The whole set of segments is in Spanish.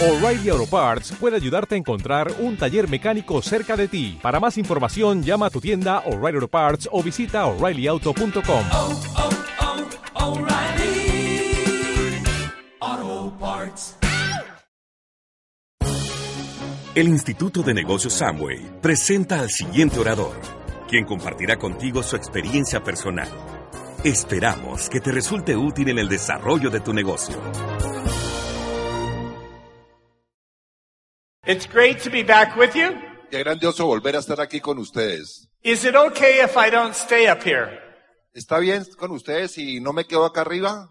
O'Reilly Auto Parts puede ayudarte a encontrar un taller mecánico cerca de ti. Para más información, llama a tu tienda O'Reilly Auto Parts o visita O'ReillyAuto.com. O'Reilly Auto Parts. El Instituto de Negocios Samway presenta al siguiente orador, quien compartirá contigo su experiencia personal. Esperamos que te resulte útil en el desarrollo de tu negocio. It's great to be back with you. Qué grandioso volver a estar aquí con ustedes. Is it okay if I don't stay up here? ¿Está bien con ustedes si no me quedo acá arriba?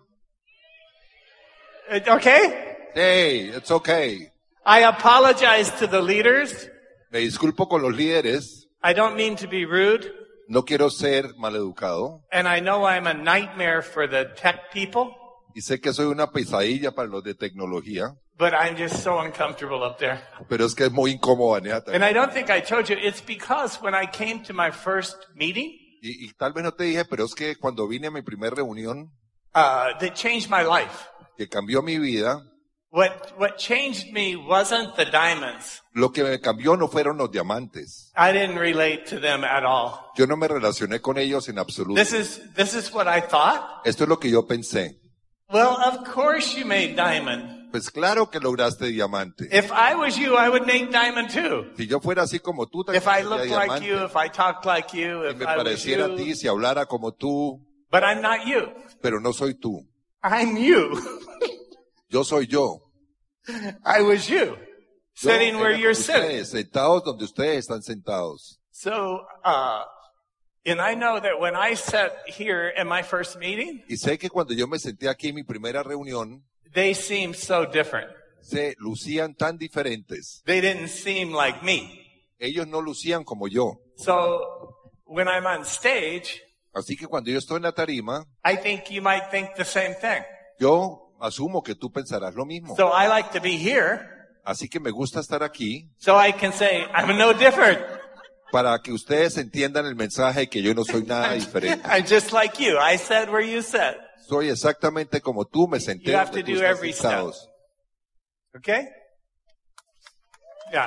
Okay? Hey, it's okay. I apologize to the leaders. Me disculpo con los líderes. I don't mean to be rude. No quiero ser maleducado. And I know I'm a nightmare for the tech people. Y sé que soy una pesadilla para los de tecnología. But I'm just so uncomfortable up there. Pero es que es muy incómodo, Aneata. And I don't think I told you, it's because when I came to my first meeting, Y tal vez no te dije, pero es que cuando vine a mi primera reunión, that changed my life. que cambió mi vida, What changed me wasn't the diamonds. lo que me cambió no fueron los diamantes. I didn't relate to them at all. Yo no me relacioné con ellos en absoluto. This is what I thought. Esto es lo que yo pensé. Well, of course you made diamond. Pues claro que lograste diamante. If I was you, I would make diamond too. Si yo fuera así como tú, If I sería looked like diamante. you, if I talked like you, Si if me I was pareciera a ti, you. si hablara como tú, But I'm not you. pero no soy tú. I'm you. Yo soy yo. I was you. Yo Sitting where era you're con sitting. ustedes, sentados donde ustedes están sentados. So, and I know that when I sat here in my first meeting, Y sé que cuando yo me senté aquí en mi primera reunión, they seemed so different. se lucían tan diferentes. They didn't seem like me. Ellos no lucían como yo. So, when I'm on stage, Así que cuando yo estoy en la tarima, I think you might think the same thing. yo asumo que tú pensarás lo mismo. So I like to be here Así que me gusta estar aquí so I can say, I'm no different. para que ustedes entiendan el mensaje que yo no soy nada diferente. I'm just like you. I said where you said. Soy exactamente como tú, me senté You have donde to tú do estás every sentados. Okay? Yeah.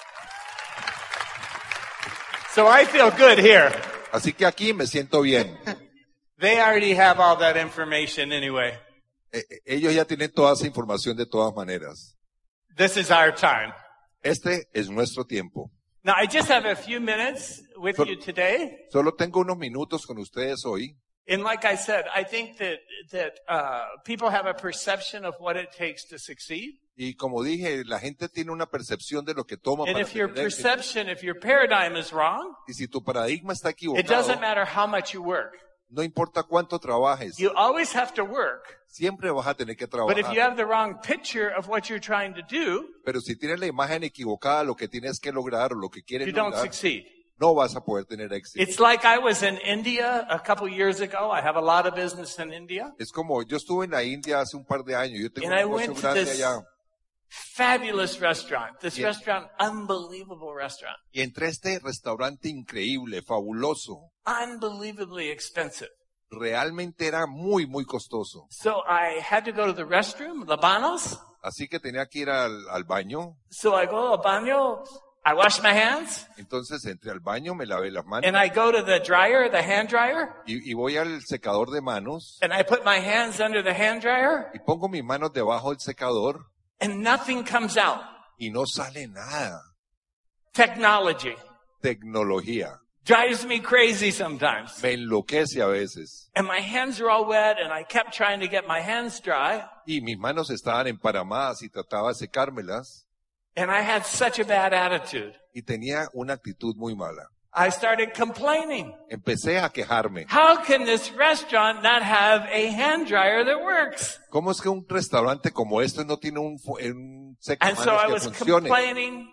So I feel good here. Así que aquí me siento bien. They already have all that information anyway. Ellos ya tienen toda esa información de todas maneras. This is our time. Este es nuestro tiempo. Now I just have a few minutes with you today. Solo tengo unos minutos con ustedes hoy. And like I said, I think that people have a perception of what it takes to succeed. Y como dije, la gente tiene una percepción de lo que toma And para if your tener éxito. perception, if your paradigm is wrong, Y si tu paradigma está it equivocado, doesn't matter how much you work. no importa cuánto trabajes, You always have to work. siempre vas a tener que But if you trabajar. have the wrong picture of what you're trying to do, Pero si tienes la imagen equivocada, lo que tienes que lograr o lo que quieres you don't lograr, succeed. no vas a poder tener éxito. It's like I was in India a couple years ago. I have a lot of business in India. Es como, yo estuve en la India hace un par de años, yo tengo And I un negocio went to grande this allá. fabulous restaurant. This Yeah. restaurant, unbelievable restaurant. Y entré a este restaurante increíble, fabuloso. Unbelievably expensive. Realmente era muy, muy costoso. So I had to go to the restroom, the baños. Así que tenía que ir al baño. So I go al baño, I wash my hands, Entonces entré al baño, me lavé las manos and I go to the dryer, the hand dryer, y voy al secador de manos and I put my hands under the hand dryer, y pongo mis manos debajo del secador and nothing comes out. y no sale nada. Technology Tecnología. drives me crazy sometimes. Me enloquece a veces. And my hands are all wet, and I kept trying to get my hands dry, Y mis manos estaban emparamadas y trataba de secármelas and I had such a bad attitude. y tenía una actitud muy mala. I started complaining. Empecé a quejarme. How can this restaurant not have a hand dryer that works? ¿Cómo es que un restaurante como este no tiene un And so I secamanos que was funcione? complaining.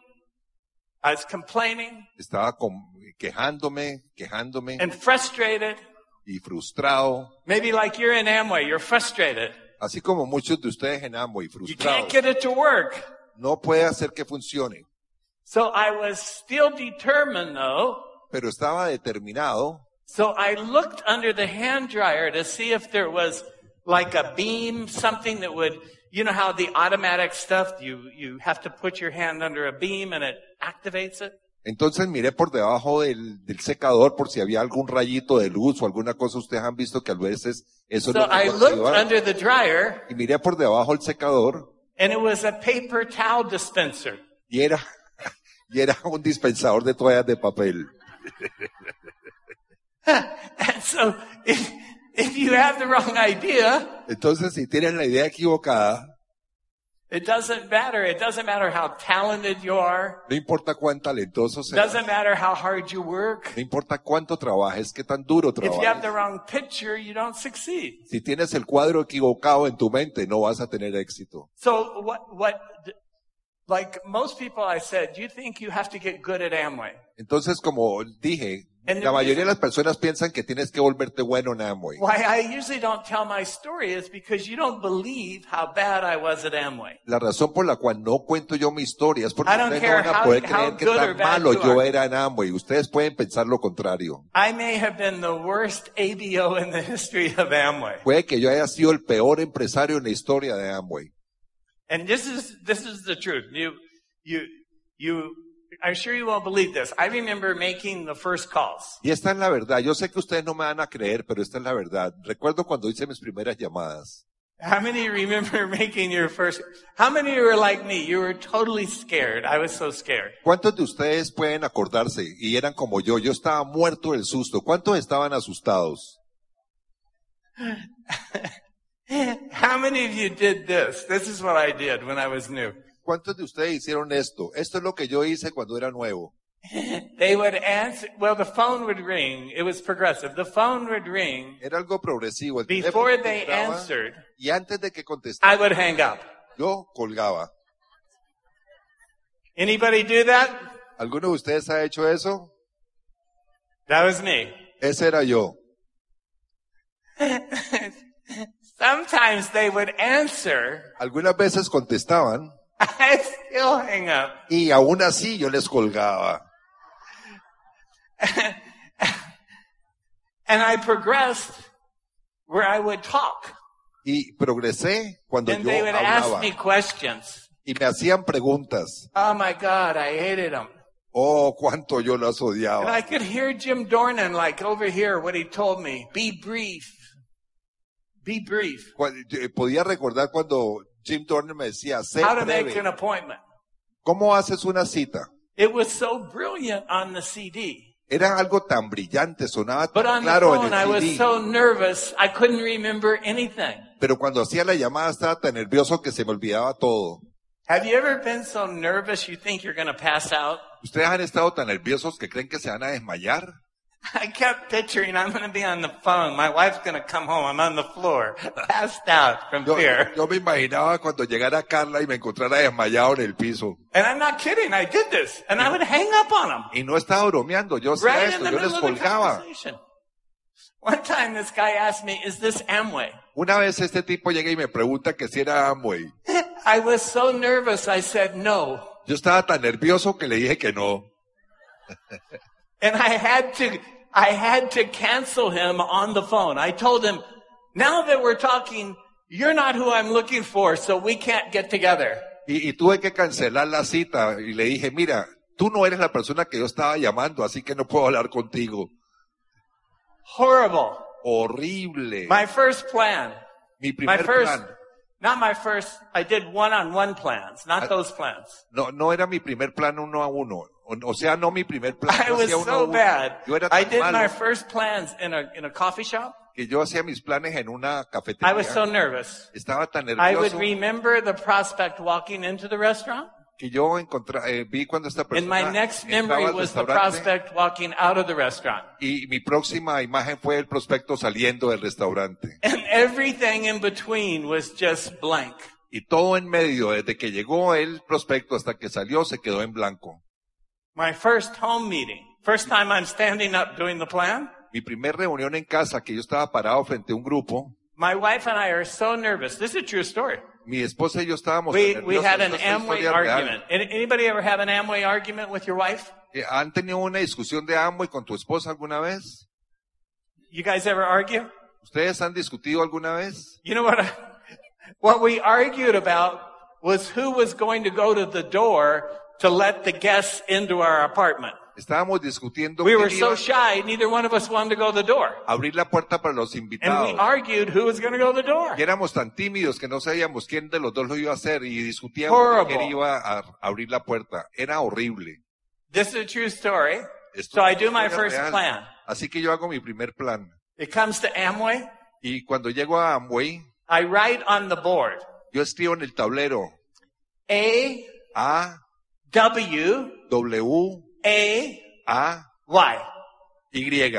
I was complaining Estaba quejándome and frustrated. y frustrado, Maybe like you're in Amway, you're frustrated. así como muchos de ustedes en Amway, You frustrados. can't get it to work. No puede hacer que funcione. So I was still determined though. Pero estaba determinado. So I looked under the hand dryer to see if there was like a beam, something that would, you know how the automatic stuff, you have to put your hand under a beam and it activates it? Entonces miré por debajo del secador por si había algún rayito de luz o alguna cosa. Ustedes han visto que a veces eso So no I lo looked activa. under the dryer Y miré por debajo del secador and it was a paper towel dispenser. y era un dispensador de toallas de papel. And so if you have the wrong idea, Entonces, si tienen la idea equivocada, it doesn't matter. It doesn't matter how talented you are. no importa cuán talentoso It seas, doesn't matter how hard you work. no importa cuánto trabajes, qué tan duro If you have the trabajes. wrong picture, you don't succeed. Si tienes el cuadro equivocado en tu mente, no vas a tener éxito. So like most people I said, you think you have to get good at Amway. Entonces, como dije, And the la mayoría de reason- las personas piensan que tienes que volverte bueno en Amway. Why I usually don't tell my story is because you don't believe how bad I was at Amway. La razón por la cual no cuento yo mi historia es porque I don't ustedes no care van a how- poder how creer que good or tan bad malo you yo are. era en Amway. Ustedes pueden pensar lo contrario. I may have been the worst ABO in the history of Amway. Puede que yo haya sido el peor empresario en la historia de Amway. And this is the truth. I'm sure you won't believe this. I remember making the first calls. Y esta es la verdad. Yo sé que ustedes no me van a creer, pero esta es la verdad. Recuerdo cuando hice mis primeras llamadas. How many remember making your first? How many of you were like me? You were totally scared. I was so scared. ¿Cuántos de ustedes pueden acordarse? Y eran como yo. Yo estaba muerto del susto. ¿Cuántos estaban asustados? How many of you did this? This is what I did when I was new. ¿Cuántos de ustedes hicieron esto? Esto es lo que yo hice cuando era nuevo. They would answer, well, the phone would ring. It was progressive. The phone would ring. Era algo progresivo. El Before teléfono they vibraba, answered, y antes de que I contestara, would hang up. yo colgaba. Anybody do that? ¿Alguno de ustedes ha hecho eso? That was me. Ese era yo. Sometimes they would answer. Algunas veces contestaban I still hang up. y aún así yo les colgaba. And I progressed where I would talk. Y progresé cuando And yo they would ask hablaba. me questions. Y me hacían preguntas. Oh my God, I hated them. Oh, cuánto yo las And odiaba. I could hear Jim Dornan like over here what he told me. Be brief. Be brief. Podía recordar cuando Jim Turner me decía, sé How to make an breve. appointment. ¿Cómo haces una cita? It was so brilliant on the CD. Era algo tan brillante, sonaba But tan on the claro en phone, I el was CD. so nervous, I couldn't remember anything. Pero cuando hacía la llamada estaba tan nervioso que se me olvidaba todo. Have you ever been so nervous you think you're going to pass out? ¿Ustedes han estado tan nerviosos que creen que se van a desmayar? I kept picturing I'm going to be on the phone. My wife's going to come home. I'm on the floor, passed out from fear. Yo me imaginaba cuando llegara Carla y me encontrara desmayado en el piso. And I'm not kidding. I did this. And I would hang up on them. Y no estaba bromeando, yo hacía Right in esto, the yo les middle of the colgaba. conversation. One time this guy asked me, is this Amway? Una vez este tipo llega y me pregunta que si era Amway. I was so nervous. I said no. Yo estaba tan nervioso que le dije que no. And I had to cancel him on the phone. I told him, now that we're talking, you're not who I'm looking for, so we can't get together. Y tuve que cancelar la cita y le dije, mira, tú no eres la persona que yo estaba llamando, así que no puedo hablar contigo. Horrible. Horrible. My first plan. Mi My primer first, plan. not my first, I did one-on-one plans, not those plans. No era mi primer plan uno a uno. O sea, no mi primer plan. I Yo was hacía uno a so uno. bad. Yo era I tan did malo my first plans in a coffee shop. que yo hacía mis planes en una I cafetería. was so nervous. Estaba tan I would nervioso remember the prospect walking into the restaurant. que yo vi cuando esta And my persona next entraba memory al was the restaurante prospect walking out of the restaurant. y mi próxima imagen fue el prospecto saliendo del restaurante. And everything in between was just blank. Y todo en medio, desde que llegó el prospecto hasta que salió, se quedó en blanco. My first home meeting, first time I'm standing up doing the plan. Mi primer reunión en casa, que yo estaba parado frente a un grupo, My wife and I are so nervous. This is a true story. mi esposa y yo estábamos We nerviosos. had an Esta es una Amway historia real. argument. Anybody ever have an Amway argument with your wife? ¿Han tenido una discusión de Amway con tu esposa alguna vez? You guys ever argue? ¿Ustedes han discutido alguna vez? You know what? What we argued about was who was going to go to the door to let the guests into our apartment. Estábamos discutiendo We were quién so iba shy, neither one of us wanted to go to the door. a abrir la puerta para los And we invitados. argued who was going to go to the door. Y éramos tan tímidos que no sabíamos quién de los dos lo iba a hacer y discutíamos Horrible. quién iba a abrir la puerta. Era horrible. This is a true story. Esto So I es do my una first real. plan. Así que yo hago mi primer plan. It comes to Amway. Y cuando llego a Amway, I write on the board, yo escribo en el tablero A, A, W, W, A, A, Y. Y.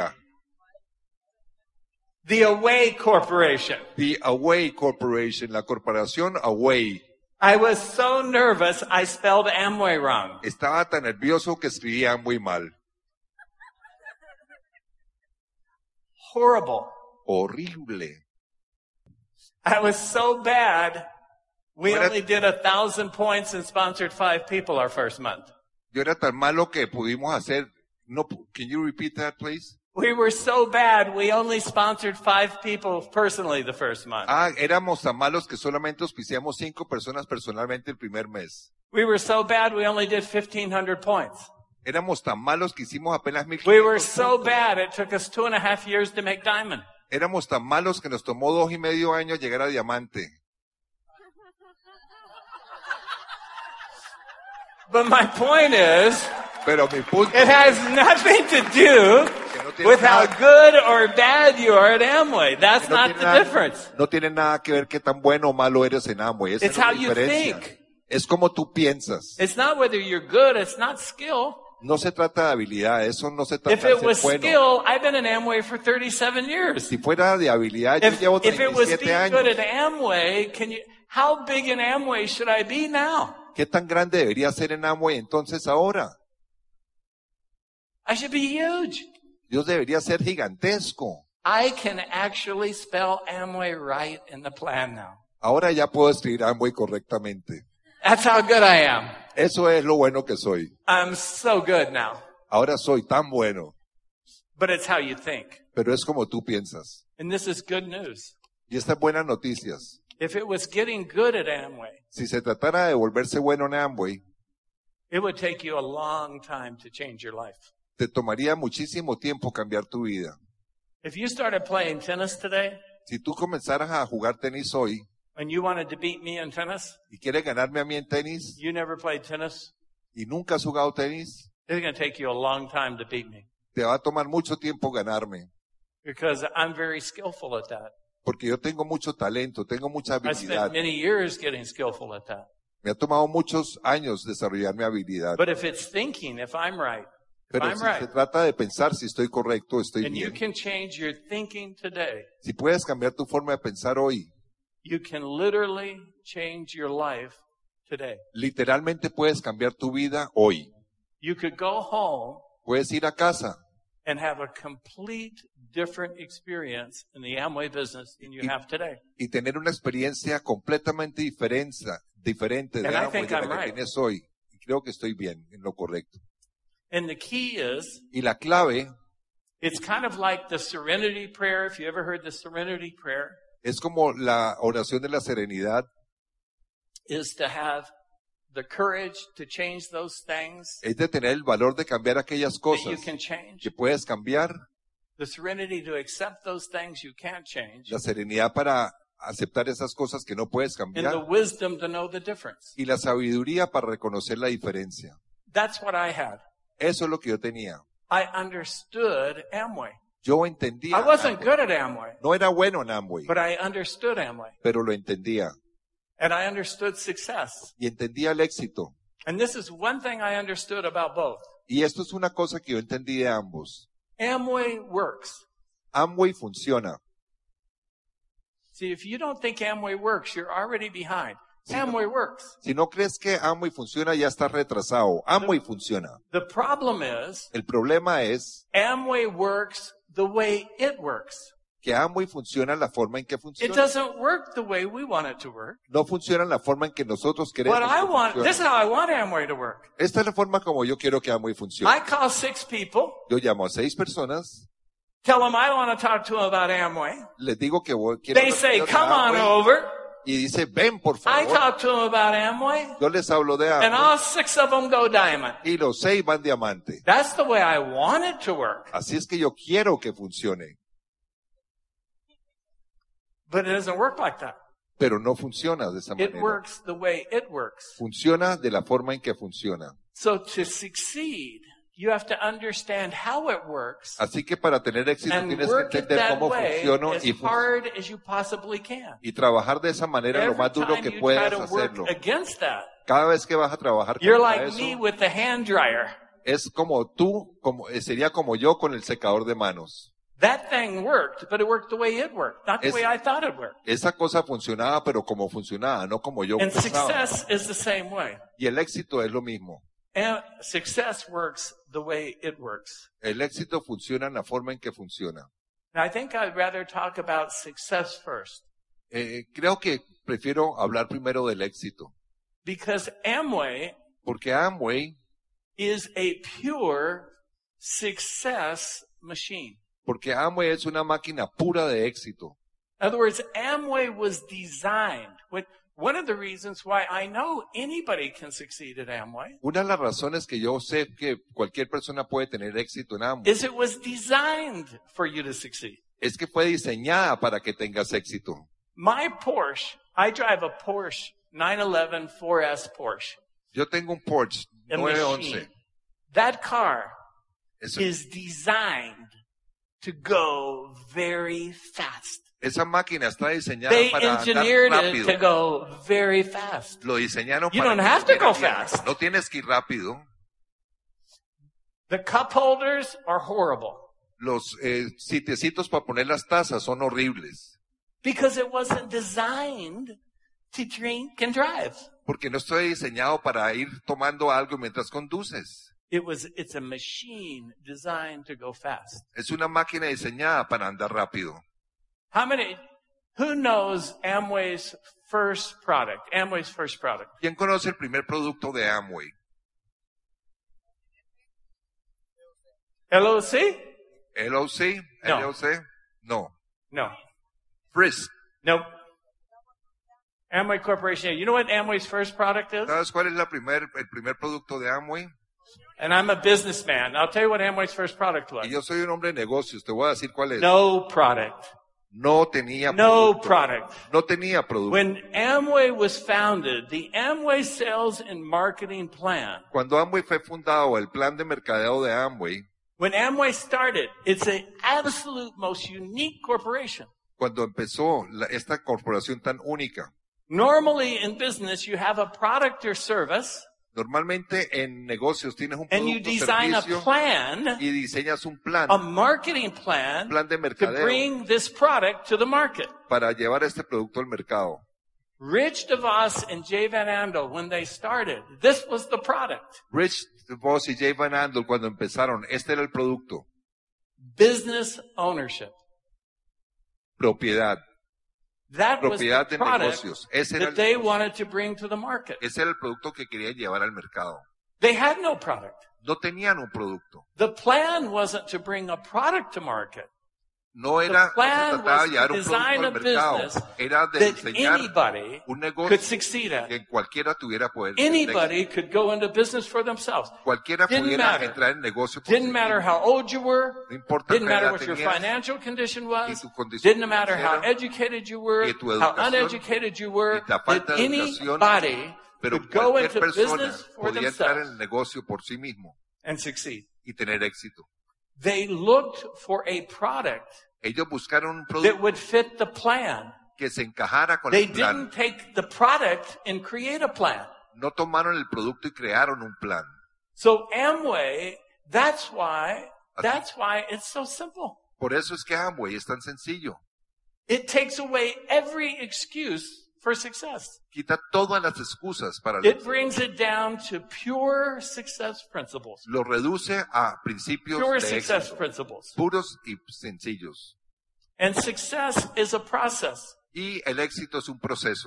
The Away Corporation. The Away Corporation, la corporación Away. I was so nervous, I spelled Amway wrong. Estaba tan nervioso que escribía muy mal. Horrible. Horrible. I was so bad, we What a- only did 1,000 points and sponsored 5 people our first month. Yo era tan malo que pudimos hacer. No, can you repeat that, please? We were so bad, we only sponsored 5 people personally the first month. Éramos tan malos que solamente auspiciamos 5 personas personalmente el primer mes. We were so bad, we only did 1,500 points. Éramos tan malos que hicimos apenas 1,500 We were so puntos. bad, it took us 2.5 years to make diamond. Éramos tan malos que nos tomó 2.5 años llegar a diamante. But my point is, Pero mi punto it has nothing to do with how good or bad you are at Amway. That's no not tiene the nada- difference. no tiene nada que ver qué tan bueno o malo eres en Amway. Esa It's es la how you diferencia. think. Es como tú piensas. It's not whether you're good, it's not skill. No se trata de habilidad, eso no se trata If de it ser was bueno. skill, I've been in Amway for 37 years. Si fuera de habilidad, yo llevo If it was 37 being good años. at Amway, how big in Amway should I be now? ¿Qué tan grande debería ser en Amway entonces ahora? I should be huge. Dios debería ser gigantesco. I can actually spell Amway right in the plan now. Ahora ya puedo escribir Amway correctamente. That's how good I am. Eso es lo bueno que soy. I'm so good now. Ahora soy tan bueno. But it's how you think. Pero es como tú piensas. And this is good news. Y estas buenas noticias. If it was getting good at Amway, Si se tratara de volverse bueno en Amway, it would take you a long time to change your life. te tomaría muchísimo tiempo cambiar tu vida. If you started playing tennis today Si tú comenzaras a jugar tenis hoy and you wanted to beat me in tennis, y quieres ganarme a mí en tenis you never played tennis, y nunca has jugado tenis, it's going to take you a long time to beat me te va a tomar mucho tiempo ganarme. because I'm very skillful at that. Porque yo tengo mucho talento, tengo mucha I habilidad. spent many years getting skillful at that. Me ha tomado muchos años desarrollar mi habilidad. But if it's thinking, if I'm right, if Pero I'm si se right, trata de pensar si estoy correcto, estoy and you bien. can change your thinking today, Si puedes cambiar tu forma de pensar hoy, you can literally change your life today. literalmente puedes cambiar tu vida hoy. You could go home Puedes ir a casa and have a complete different experience in the Amway business than you have today. y tener una experiencia completamente diferente de And I Amway think de la I'm que right. tienes hoy. Y creo que estoy bien en lo correcto. And the key is, Y la clave it's kind of like the serenity prayer. If you ever heard the serenity prayer, es como la oración de la serenidad, is to have the courage to change those things es de tener el valor de cambiar aquellas that you cosas can change. que puedes cambiar, The serenity to accept those things you can't change. la serenidad para aceptar esas cosas que no puedes And the cambiar wisdom to know the difference. y la sabiduría para reconocer la diferencia. That's what I had. Eso es lo que yo tenía. I understood Amway. Yo entendía. I wasn't Amway. good at Amway, No era bueno en Amway, but I understood Amway. pero lo entendía. And I understood success. Y entendía el éxito. And this is one thing I understood about both. Y esto es una cosa que yo entendí de ambos. Amway works. Amway funciona. See, if you don't think Amway works, you're already behind. Amway works. Si no crees que Amway funciona, ya estás retrasado. Amway funciona. The problem is, El problema es Amway works the way it works. que Amway funciona la forma en que It funciona. doesn't work the way we want it to work. No funciona la forma en que nosotros queremos What I que want, funcione. this is how I want Amway to work. Esta es la forma como yo quiero que Amway funcione. I call 6 people, Yo llamo a 6 personas, tell them I want to talk to them about Amway. les digo que quiero They say, hablar de come on Amway. over. y dice, ven por I favor. talk to them about Amway, Yo les hablo de and Amway all 6 of them go diamond. y los 6 van diamante. That's the way I want it to work. Así es que yo quiero que funcione, But it doesn't work like that. pero no funciona de esa It manera. works the way it works. Funciona de la forma en que funciona. So to succeed, you have to understand how it works Así que para tener éxito and tienes que work it entender that cómo way funciona as y hard as you possibly can. trabajar de esa manera lo Every más duro time que you try puedas to work hacerlo. against that, Cada vez que vas a trabajar you're contra like eso, me with the hand dryer. es como tú, sería como yo con el secador de manos. That thing worked, but it worked the way it worked, not the Es- way I thought it worked. Esa cosa funcionaba, pero como funcionaba, no como yo And pensaba. success is the same way. Y el éxito es lo mismo. And success works the way it works. El éxito funciona en la forma en que funciona. Now, I think I'd rather talk about success first, Creo que prefiero hablar primero del éxito. because Amway Porque Amway, is a pure success machine. porque Amway es una máquina pura de éxito. In other words, Amway was designed. One of the reasons why I know anybody can succeed at Amway Una de las razones que yo sé que cualquier persona puede tener éxito en Amway is it was designed for you to succeed. es que fue diseñada para que tengas éxito. My Porsche, I drive a Porsche 911 4S Porsche. Yo tengo un Porsche A 911. machine. That car Eso- is designed to go very fast. Esa máquina está diseñada They para andar engineered it rápido. to go very fast. Lo diseñaron You para don't que have to estuviera go bien. fast. No tienes que ir rápido. The cup holders are horrible Los sitiecitos para poner las tazas son horribles. because it wasn't designed to drink and drive. Porque no estoy diseñado para ir tomando algo mientras conduces. It's a machine designed to go fast. Es una máquina diseñada para andar rápido. Who knows Amway's first product? Amway's first product. ¿Quién conoce el primer producto de Amway? LOC? LOC? No. LOC? No. No. Frisk. Nope. Amway Corporation. You know what Amway's first product is? ¿Sabes cuál es el primer producto de Amway? And I'm a businessman. I'll tell you what Amway's first product was. Y yo soy un hombre de negocios, te voy a decir cuál es. No product. No tenía No producto. product. No tenía producto. When Amway was founded, the Amway sales and marketing plan, Cuando Amway fue fundado, el plan de mercadeo de Amway, when Amway started, it's an absolute most unique corporation. cuando empezó esta corporación tan única, Normally in business, you have a product or service normalmente en negocios tienes un and you producto design a servicio plan, y diseñas un plan a marketing plan de to mercadeo bring this product to the market. para llevar este producto al mercado. Rich DeVos and Jay Van Andel, when they started, this was the product. Rich DeVos y Jay Van Andel cuando empezaron, este era el producto, Business ownership. propiedad. That was the Propiedad de product negocios. Ese era that they wanted to bring to the market. Ese era el producto que querían llevar al mercado. They had no product. No tenían un producto. The plan wasn't to bring a product to market. No era, no se plan trataba was de llevar to un producto design a al mercado. business Era de that diseñar anybody un could negocio succeed at. que cualquiera tuviera poder. tener éxito. Anybody could go into business for themselves. Cualquiera Didn't pudiera matter. entrar en negocio por Didn't sí matter mismo. how old you were. No importa Didn't qué matter edad what your tenías, financial condition was. tu condición Didn't matter how financiera, educated you were, y tu how educación, uneducated you were. y la falta That de educación, anybody pero could go cualquier into persona business for podía entrar en el themselves negocio por sí mismo and succeed. y tener éxito. They looked for a product Ellos buscaron un that producto would fit the plan. que se encajara con They el plan. didn't take the product and create a plan. No tomaron el producto y crearon un plan. So Amway, that's why it's so simple. Por eso es que Amway es tan sencillo. It takes away every excuse for success. Quita todas las excusas para el It éxito. brings it down to pure success principles. Lo reduce a principios Pure de success éxito, principles. puros y sencillos. And success is a process. Y el éxito es un proceso.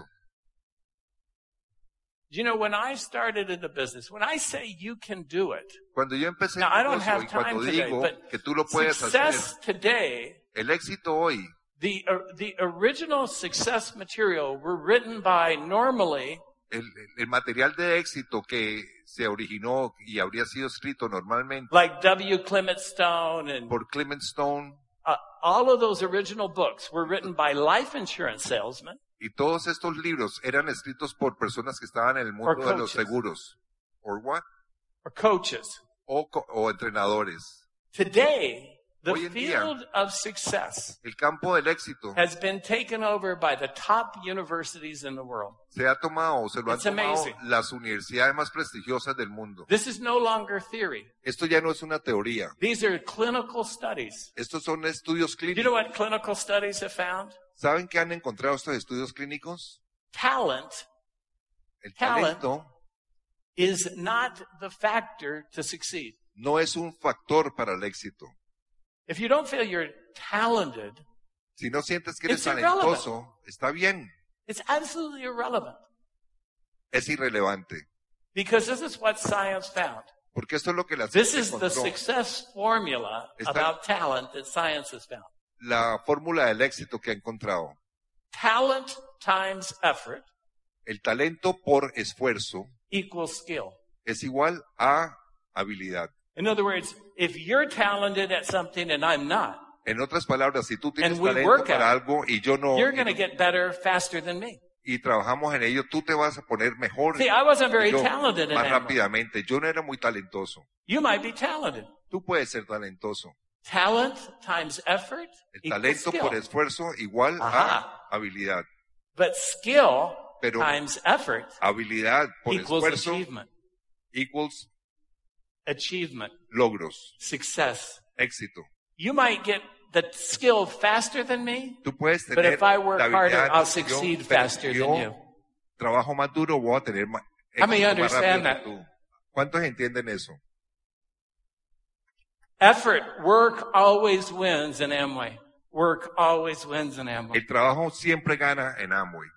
You know, when I started in the business, when I say you can do it, Cuando yo empecé now I el don't negocio have y time cuando today, digo but que tú lo puedes hacer, success today el éxito hoy The original success material were written by normally El material de éxito que se originó y habría sido escrito normalmente like W. Clement Stone and por Clement Stone, all of those original books were written by life insurance salesmen y todos estos libros eran escritos por personas que estaban en el mundo de los coaches. seguros. Or what? or coaches. O entrenadores. Today, the Hoy en día, field of success el campo del éxito has been taken over by the top universities in the world. se lo han It's tomado amazing. las universidades más prestigiosas del mundo. This is no longer theory. Esto ya no es una teoría. These are clinical studies. Estos son estudios Do you know clínicos. what clinical studies have found? ¿Saben qué han encontrado estos estudios clínicos? Talent El Talent. talento is not the factor to succeed. no es un factor para el éxito. If you don't feel you're talented, Si no sientes que eres It's irrelevant. talentoso, está bien, it's absolutely irrelevant. es irrelevante. Because this is what science found. Porque esto es lo que la This ciencia is the encontró. success formula Está- about talent that science has found. La fórmula del éxito que ha encontrado. Talent times effort El talento por esfuerzo equals skill. es igual a habilidad. In other words, if you're talented at something and I'm not, En otras palabras, si tú tienes And we talento work para at it, algo y yo no, you're going to get better faster than me. y trabajamos en ello, tú te vas a poner mejor See, I wasn't very que yo, talented in más Amway. rápidamente. Yo no era muy talentoso. You might be talented. Tú puedes ser talentoso. Talent times effort El equals talento skill. por esfuerzo igual Ajá. a habilidad. But skill Pero times effort habilidad por equals esfuerzo achievement. equals Achievement, logros, success. éxito. You might get the skill faster than me, Tú puedes but tener if I work la harder, habilidad, I'll yo, succeed pero faster yo than you. trabajo más duro, voy a tener más How many éxito más rápido understand que that? tú. ¿Cuántos entienden eso? Effort, work always wins in Amway. Work always wins in Amway. El trabajo siempre gana en Amway.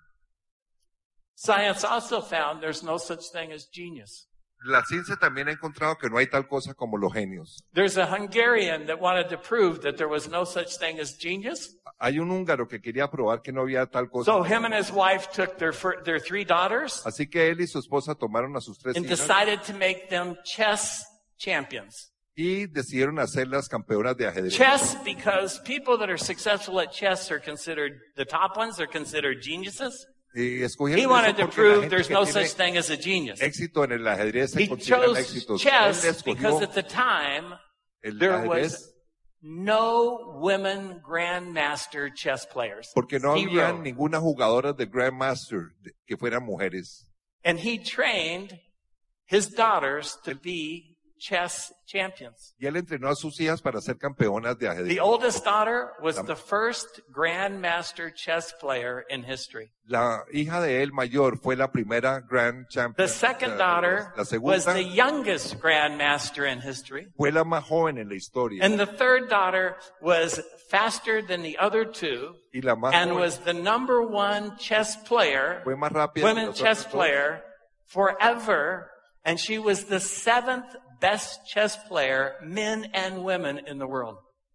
Science also found there's no such thing as genius. La ciencia también ha encontrado que no hay tal cosa como los genios. There's a Hungarian that wanted to prove that there was no such thing as genius. Hay un húngaro que quería probar que no había tal cosa. So him and his wife took their three daughters Así que él y su esposa tomaron a sus tres and hijas decided to make them chess champions. y decidieron hacerlas campeonas de ajedrez. Chess, because people that are successful at chess are considered, the top ones are considered geniuses. Y He escogieron wanted eso to porque la prove gente there's que no tiene such thing as a genius. éxito en el ajedrez se He consideran chose éxitos. chess Él because escogió at the time el there ajedrez was no women grandmaster chess players. porque no había Zero. ninguna jugadora de Grandmaster que fueran mujeres. And he trained his daughters to be chess champions. Y él entrenó a sus hijas para ser campeonas de ajedrez. The oldest daughter was the first grandmaster chess player in history. La hija de él mayor fue la primera Grand Champion. The second daughter La was segunda the youngest grandmaster in history. fue la más joven en la historia. And the third daughter was faster than the other two Y la más and joven was the number one chess player, fue más rápida que women los chess otros dos. player forever. And she was the seventh best chess player, men and women in the world.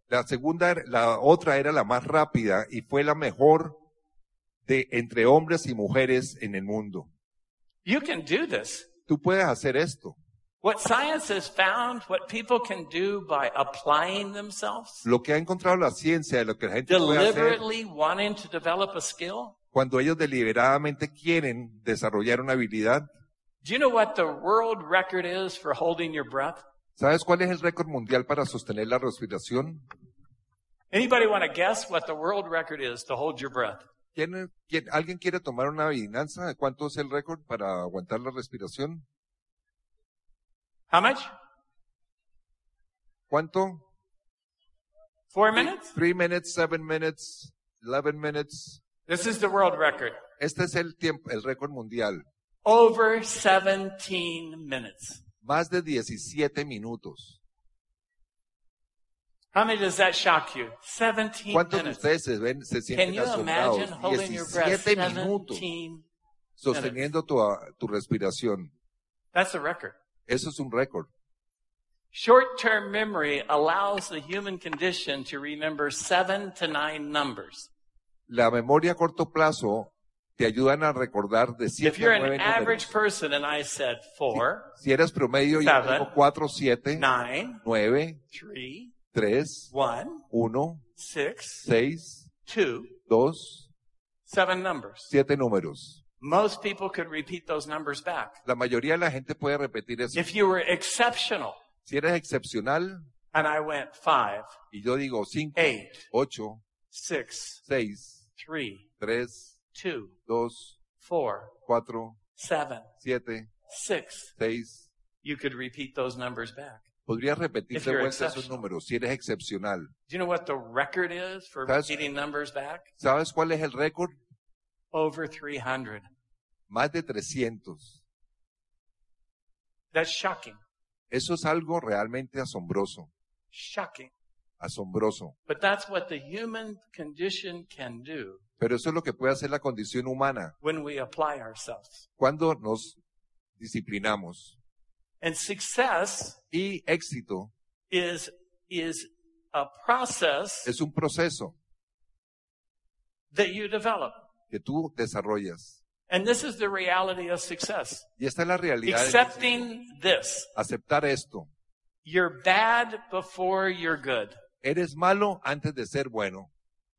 La otra era la más rápida y fue la mejor de entre hombres y mujeres en el mundo. You can do this. Tú puedes hacer esto. What science has found, what people can do by applying themselves, Lo que ha encontrado la ciencia de lo que la gente puede hacer deliberately wanting to develop a skill. cuando ellos deliberadamente quieren desarrollar una habilidad. Do you know what the world record is for holding your breath? ¿Sabes cuál es el récord mundial para sostener la respiración? Anybody want to guess what the world record is to hold your breath? ¿Alguien quiere tomar una adivinanza de cuánto es el récord para aguantar la respiración? How much? ¿Cuánto? 4 minutes? 3 minutes, 7 minutes, 11 minutes. This is the world record. Este es el tiempo, el récord mundial. Over 17 minutes. Más de 17 minutos. How many does that shock you? 17 ¿Cuántos de minutes. ustedes se Can sienten you asombrados? imagine holding your breath 17 minutos 17? sosteniendo tu respiración. That's a record. Eso es un récord. Short-term memory allows the human condition to remember 7 to 9 numbers. La memoria a corto plazo te ayudan a recordar de If 7 you're a 9 an average números. person and I said 4, Si eres promedio, yo Seven. digo 4, 7, 9, 9, 3, 3, 1, 1, 6, 6, 2, 2, 7 numbers. 7 números. Most people could repeat those numbers back. La mayoría de la gente puede repetir eso. If you were exceptional Si eres excepcional, and I went 5, y yo digo 5, 8, 8, 6, 6, 3, 3, 2, 2, 4, 4, 7, 7, 6, 6. you could repeat those numbers back. Podrías repetir If de you're vuelta esos exceptional. números si eres excepcional. Do you know what the record is for That's- repeating numbers back? ¿Sabes cuál es el récord? Over 300. Más de 300. That's shocking. Eso es algo realmente asombroso. Shocking. Asombroso. But that's what the human condition can do Pero eso es lo que puede hacer la condición humana when we apply ourselves. cuando nos disciplinamos. And success Y éxito is a process es un proceso that you develop. que tú desarrollas. And this is the reality of success. Y esta es la realidad. del éxito. Accepting this. Aceptar esto. You're bad before you're good. Eres malo antes de ser bueno.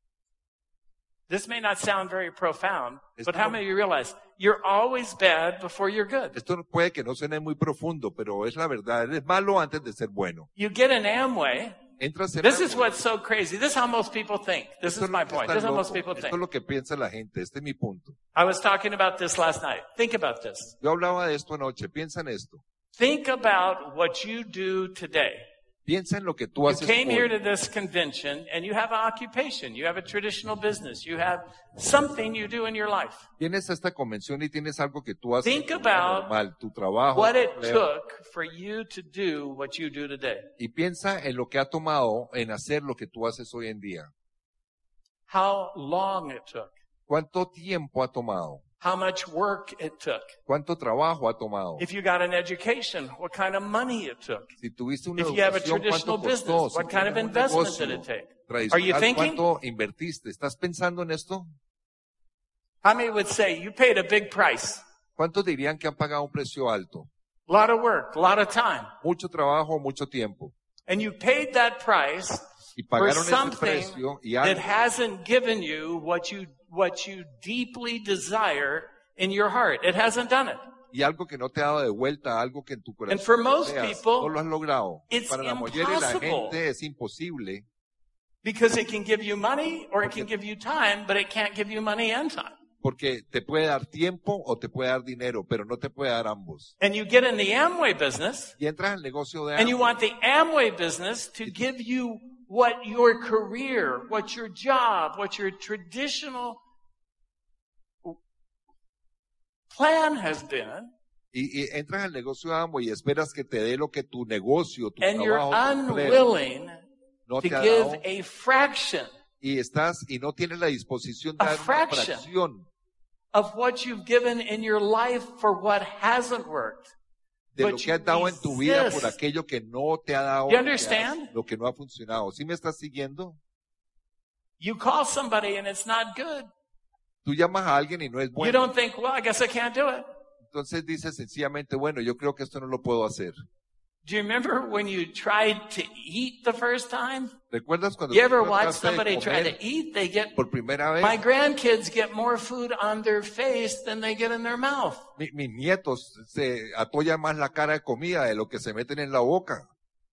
This may not sound very profound, It's but how not. many of you realize you're always bad before you're good? Esto puede que no suene muy profundo, pero es la verdad. Eres malo antes de ser bueno. You get an Amway. Entras en This algo. is what's so crazy. This is how most people think. This Esto is es lo my que point. está This is how most loco. people Esto es think. lo que piensa la gente. Este es mi punto. I was talking about this last night. Think about this. Yo hablaba de esto anoche. Piensa en esto. Think about what you do today. Piensa en lo que tú You haces came here to hoy. this convention and you have an occupation. You have a traditional business. You have something you do in your life. Vienes a esta convención y tienes algo que tú haces Think about normal, tu trabajo. What tu it empleo. took for you to do what you do today. Y piensa en lo que ha tomado en hacer lo que tú haces hoy en día. How long it took. ¿Cuánto tiempo ha tomado? How much work it took. ¿Cuánto trabajo ha tomado? If you got an education, what kind of money it took. Si tuviste una If you have a educación, traditional ¿cuánto costó? business, Si what kind of tienes un investment negocio did it take? tradicional, Are you thinking? ¿cuánto invertiste? ¿Estás pensando en esto? How many would say you paid a big price? ¿Cuántos dirían que han pagado un precio alto? A lot of work, a lot of time. Mucho trabajo, mucho tiempo. And you paid that price Y for pagaron ese something precio y that algo hasn't given you what you deeply desire in your heart. It hasn't done it. que no te ha dado de vuelta, algo que en tu corazón And for most deseas, people, no lo has logrado. it's Para la mayoría de la impossible. gente es imposible Because it can give you money or it can give you time, but it can't give you money and time. porque te puede dar tiempo o te puede dar dinero, pero no te puede dar ambos. And you get in the Amway business Y entras al negocio de and you Amway want the Amway business to give you what your career, what your job, what your traditional plan has been, y entras al negocio de Amway y esperas que te dé lo que tu negocio, tu and you're trabajo, tu empleo unwilling no to te ha give dado, a fraction y no tienes la disposición de A dar una fraction. fracción of what you've given in your life for what hasn't worked. de But lo que you has dado en tu vida por resist. aquello que no te ha dado, You que understand? lo que no ha funcionado. ¿Sí me estás siguiendo? You call somebody and it's not good. Tú llamas a alguien y no es You bueno. don't think, well, I guess I can't do it. Entonces dices sencillamente, bueno, yo creo que esto no lo puedo hacer. Do you remember when you tried to eat the first time? ¿Recuerdas cuando You tú ever watch trataste de somebody try comer to eat? They get, por primera vez? my grandkids get more food on their face than they get in their mouth. Mis nietos se atollan más la cara de comida de lo que se meten en la boca.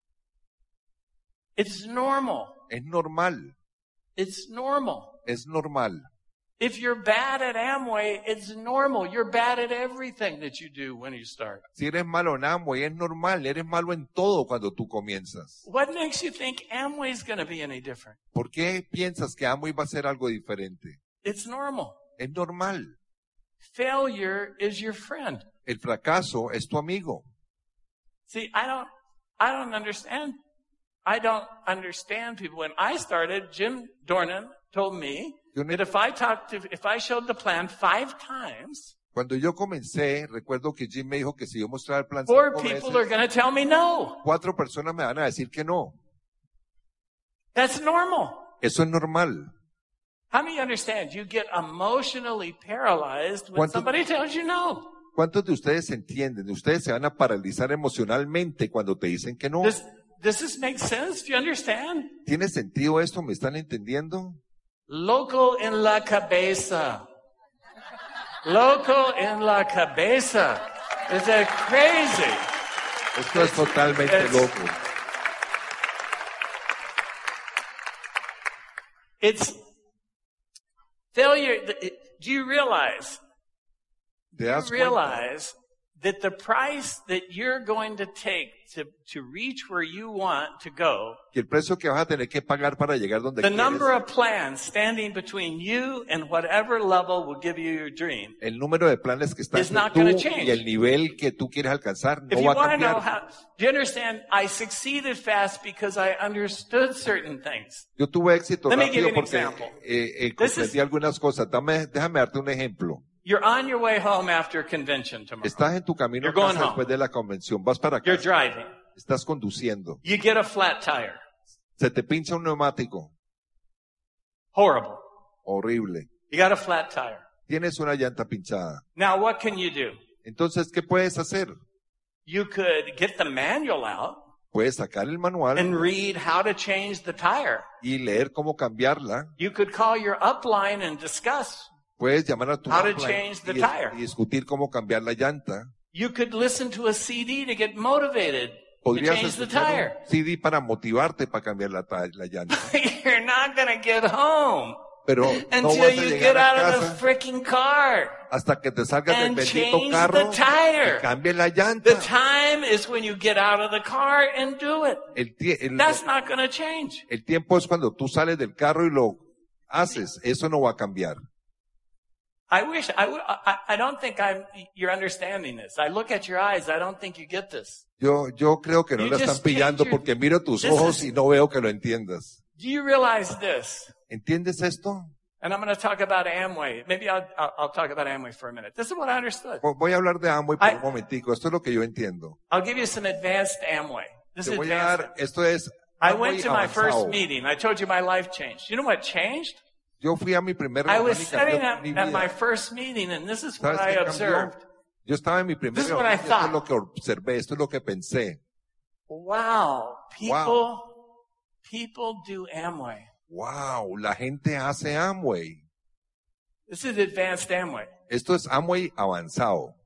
It's normal. Es normal, It's normal. es normal. If you're bad at Amway, it's normal. You're bad at everything that you do when you start. Si eres malo en Amway, es normal, eres malo en todo cuando tú comienzas. What makes you think Amway's going to be any different? ¿Por qué piensas que Amway va a ser algo diferente? It's normal. Es normal. Failure is your friend. El fracaso es tu amigo. See, I don't understand. I don't understand people. When I started, Jim Dornan told me that if I showed the plan 5 times, Cuando yo comencé, recuerdo que Jim me dijo que si yo mostraba el plan 4 5 people veces, are going to tell me no. 4 personas me van a decir que no. That's normal. Eso es normal. How many understand you get emotionally paralyzed when ¿Cuántos- somebody tells you no? ¿Cuántos de ustedes entienden? Ustedes se van a paralizar emocionalmente cuando te dicen que no. Does this make sense? Do you understand? ¿Tiene sentido esto? ¿Me están entendiendo? Loco en la cabeza. Loco en la cabeza. Is that crazy? Esto es totalmente it's- loco. It's failure. Do you realize? ¿Te das You cuenta? realize that the price that you're going to take to reach where you want to go, Que el precio que vas a tener que pagar para llegar donde the quieres, number of plans standing between you and whatever level will give you your dream. el número de planes que están It's not entre gonna tú change. y el nivel que tú quieres alcanzar If no you va a want to know cambiar. how, do you understand? I succeeded fast because I understood certain things. Yo tuve éxito Let me give rápido you an porque example. comprendí This is- algunas cosas. Déjame darte un ejemplo. You're on your way home after convention tomorrow. Estás en tu camino a You're going casa home. después de la convención, vas para You're casa, driving. estás conduciendo, You get a flat tire. se te pincha un neumático, Horrible. horrible, You got a flat tire. tienes una llanta pinchada. Now what can you do? Entonces, ¿qué puedes hacer? You could get the manual out Puedes sacar el manual and read how to change the tire. y leer cómo cambiarla. You could call your upline and discuss. Puedes llamar a tu How to upline change the y tire. y discutir cómo cambiar la llanta. You could listen to a CD to get motivated to Podrías change the escuchar tire. un CD para motivarte para cambiar la llanta. You're not going to get home Pero no until vas a you llegar get a out of casa the freaking car. hasta que te salgas del and bendito change carro the tire. y cambies la llanta. The time is when you get out of the car and do it. El That's not going to change. tiempo es cuando tú sales del carro y lo haces. Eso no va a cambiar. I don't think you're understanding this. I look at your eyes. I don't think you get this. Yo creo que no You lo están just pillando change your- porque miro tus This ojos is- y no veo que lo entiendas. Do you realize this? ¿Entiendes esto? And I'm going to talk about Amway. Maybe I'll talk about Amway for a minute. This is what I understood. Voy a hablar de Amway por I- un momentico. Esto es lo que yo entiendo. I'll give you some advanced Amway. This Te is voy a advanced. dar, esto es I Amway went to my first avanzado. meeting. I told you my life changed. You know what changed? Yo fui a mi primer I was reunión y sitting cambió mi at my vida. first meeting, and this is what ¿Sabes I qué cambió? observed. Yo estaba en mi primer This is what I reunión y esto es thought. lo que observé, esto es lo que pensé. Wow, Wow. people do Amway. Wow, la gente hace Amway. This is advanced Amway. Esto es Amway avanzado.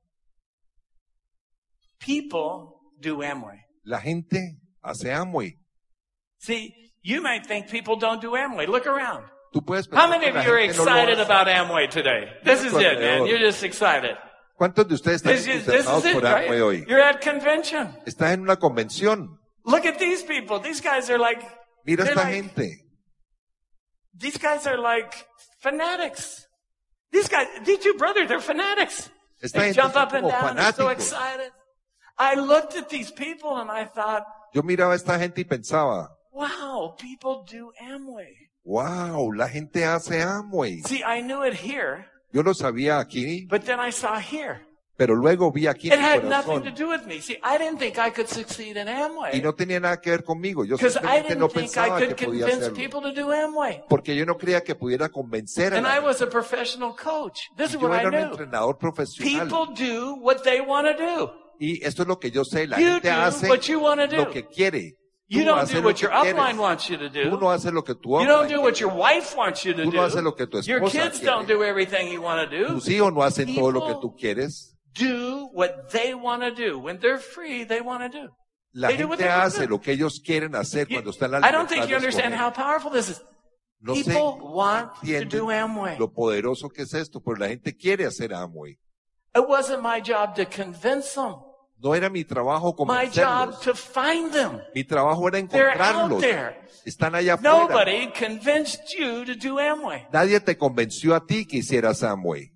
People do Amway. La gente hace Amway. See, you might think people don't do Amway. Look around. Tú puedes How pensar many que of la you are gente no lo excited hace. about Amway today? This is it, man. You're just excited. ¿Cuántos de ustedes están This is entusiasmados it, por Amway right? hoy? You're at convention. Estás en una convención. Look at these people. These guys are like, Mira they're esta like- gente. these guys are like fanatics. These two brothers, they're fanatics. Esta They gente jump son up and como down. They're so fanáticos. excited. I looked at these people and I thought, Yo miraba a esta gente y pensaba, wow, people do Amway. wow, la gente hace Amway. See, I knew it here, Yo lo sabía aquí, but then I saw here. pero luego vi aquí It en mi had nothing to corazón. do with me. See, I didn't think I could succeed in Y Amway no tenía nada que ver conmigo. Yo because I simplemente no didn't think I pensaba could que podía convince hacerlo. people to do Amway. Porque yo no creía que pudiera convencer a And la I gente. was a professional coach. This is Yo what I era un knew. entrenador profesional. People do what they want to do. Y esto es lo que yo sé. La You gente do hace what you want to do. lo que quiere. You Tú don't haces do lo what que your quieres. upline wants you to Tú do. no haces lo que tu You don't upline do what quiere. your wife wants you to Tú no haces lo do. que tu Your esposa kids quiere. don't do everything you want to do. Tus hijos no hacen todo lo que People tú quieres. do what they want to do. When they're free, they want to do. La They do what gente they want hace to do. lo que ellos quieren hacer You- cuando están en la I don't think you libertad de understand escoger. how powerful this is. No sé People want to entienden do Amway. lo poderoso que es esto, pero la gente quiere hacer Amway. It wasn't my job to convince them. No era mi trabajo My job convencerlos. to find them. Mi trabajo era They're out encontrarlos. there. Están allá afuera. Nobody convinced you to do Amway. Nadie te convenció a ti que hicieras Amway.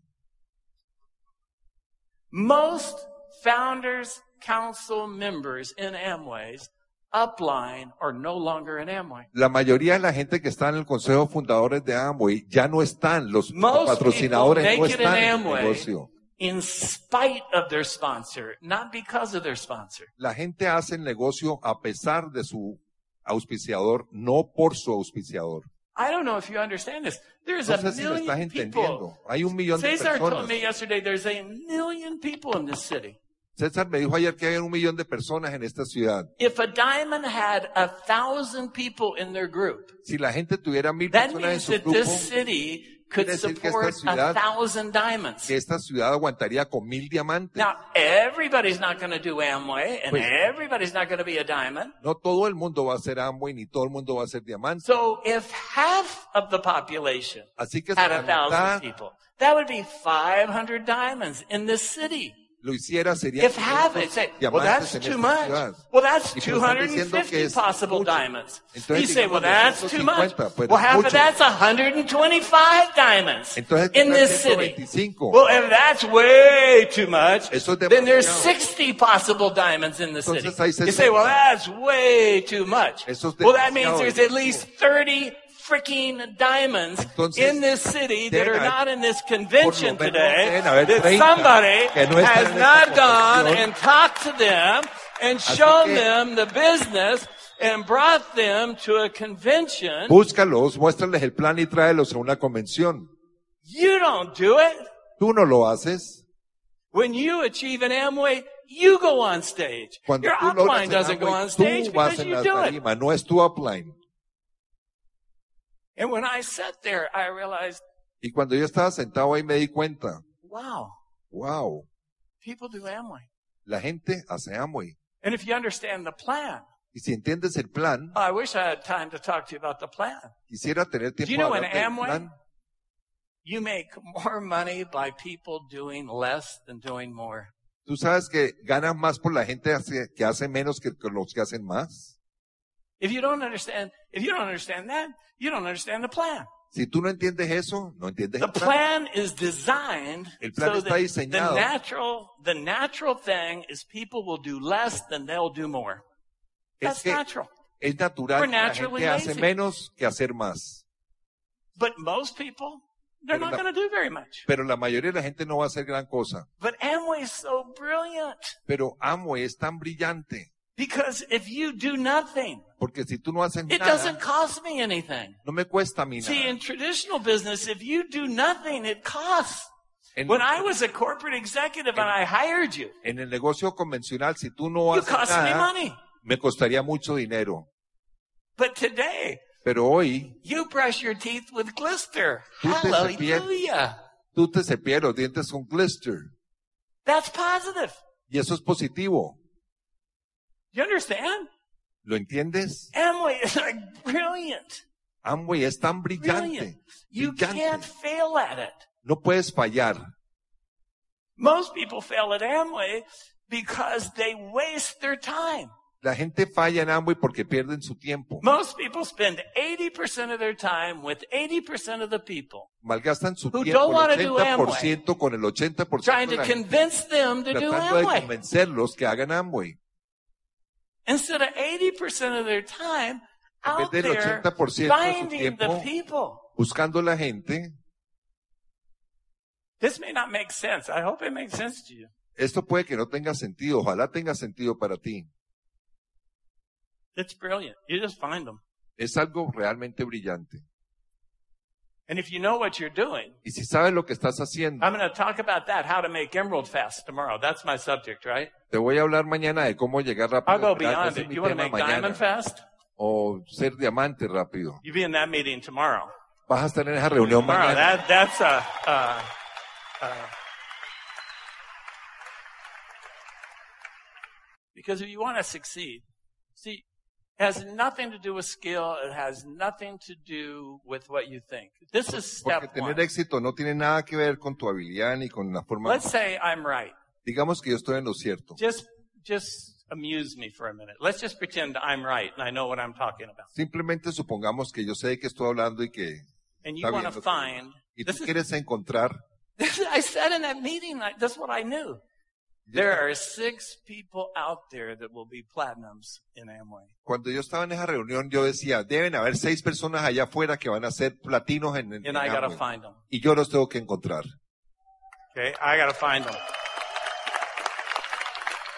Most founders council members in Amway's upline are no longer in Amway. La mayoría de la gente que está en el consejo de fundadores de Amway ya no están, los Most patrocinadores people no make it in están en el Amway negocio. in spite of their sponsor, not because of their sponsor. La gente hace el negocio a pesar de su auspiciador, no por su auspiciador. I don't know if you understand this. There's a No sé si lo estás million people. entendiendo. Hay 1 millón de Cesar told personas. me yesterday there's a million people in this city. César me dijo ayer que hay 1 millón de personas en esta ciudad. If a diamond had 1,000 people in their group, Si la gente tuviera 1000 that personas en means su that grupo, this city could quiere decir que support esta ciudad- 1,000 diamonds. que esta ciudad aguantaría con 1000 diamantes. Now, everybody's not going to do Amway, and Pues- everybody's not going to be a diamond. No todo el mundo va a ser Amway, ni todo el mundo va a ser diamante. So if half of the population Así que si had la 1,000 mitad people, that would be 500 diamonds in this city. lo hiciera, sería If half it, say, well, diamantes that's en too esta much. ciudad. Well, that's Y pues están diciendo que 250 es possible mucho. diamonds. Entonces, You say, well, digamos, that's too much. 250, pero Well, es half mucho. of that's 125 diamonds Entonces, in tendrá this city. 125. Well, if that's way too much, Eso es then there's demasiado. 60 possible diamonds in the city. Entonces, hay You say, well, 60. that's way too much. Eso es Well, that means demasiado. there's at least 30 freaking diamonds Entonces, in this city that are deben haber- not in this convention por lo menos today, deben haber that 30 somebody que no están has en esta not gone convención. and talked to them and Así shown que- them the business and brought them to a convention. Búscalos, muéstrales el plan y tráelos a una convención. You don't do it. Tú no lo haces. When you achieve an Amway, you go on stage. Cuando Your tú logras upline el doesn't go Amway, on stage tú vas because en you la do it. tarima, no es tu upline. And when I sat there, I realized, Y cuando yo estaba sentado ahí me di cuenta, wow, wow, people do Amway. la gente hace Amway. And if you understand the plan, Y si entiendes el plan, I wish I had time to talk to you about the plan. quisiera tener Do you tiempo know de in hablar del Amway, plan. you make more money by people doing less than doing more. Tú sabes que ganas más por la gente que hace menos que los que hacen más. If you don't understand that, you don't understand the plan. Si tú no entiendes eso, no entiendes The el plan. plan is designed El plan so está that diseñado. the natural thing is people will do less than they'll do more. That's Es que natural. es natural We're que la naturally gente hace lazy. menos que hacer más. But most people, they're Pero not la- going to do very much. Pero la mayoría de la gente no va a hacer gran cosa. But Amway is so brilliant Pero Amway es tan brillante. because if you do nothing, Porque si tú no haces it nada, doesn't cost me anything. no me cuesta a mí See, nada. in traditional business, if you do nothing, it costs. En, When I was a corporate executive and I hired you, en el negocio convencional, si tú no you haces cost me nada, money. me costaría mucho dinero. But today, Pero hoy, you brush your teeth with glister. Tú te Hallelujah. tú te cepillas los dientes con glister. That's positive. Y eso es positivo. You understand? ¿Lo entiendes? Amway is like brilliant. Amway es tan brillante. Brilliant. You brillante. can't fail at it. No puedes fallar. Most people fail at Amway because they waste their time. La gente falla en Amway porque pierden su tiempo. Most people spend 80% of their time with 80% of the people, Malgastan su Who tiempo don't wanna el do 80% con el 80% trying de to la gente, convince them to do tratando de Amway. convencerlos que hagan Amway. Instead of 80% of their time En out vez del there 80% de su finding the tiempo people. buscando la gente. This may not make sense. I hope it makes sense to you. Esto puede que no tenga sentido. Ojalá tenga sentido para ti. It's brilliant. You just find them. Es algo realmente brillante. And if you know what you're doing, Y si sabes lo que estás haciendo, I'm going to talk about that, how to make emerald fast tomorrow. That's my subject, right? te voy a hablar mañana de cómo llegar rápido. I'll go ¿verdad? beyond Ese es it. mi You want to tema make diamond mañana. fast? O ser diamante rápido. You be in that meeting tomorrow. Vas a estar en esa reunión Tomorrow. mañana. That's because if you want to succeed, see, it has nothing to do with skill. It has nothing to do with what you think. This is Porque step tener one. éxito no tiene nada que ver con tu habilidad ni con la forma. Let's say I'm right. Digamos que yo estoy en lo cierto. Just amuse me for a minute. Let's just pretend I'm right and I know what I'm talking about. Simplemente supongamos que yo sé de qué estoy hablando y que And you está want bien to lo que find, digo. Y this tú is, quieres encontrar. I said in that meeting, that's what I knew. There are 6 people out there that will be platinums in Amway. Cuando yo estaba en esa reunión, yo decía, deben haber 6 personas allá afuera que van a ser platinos en And I got to Amway. find them. Y yo los tengo que encontrar. Okay? I got to find them.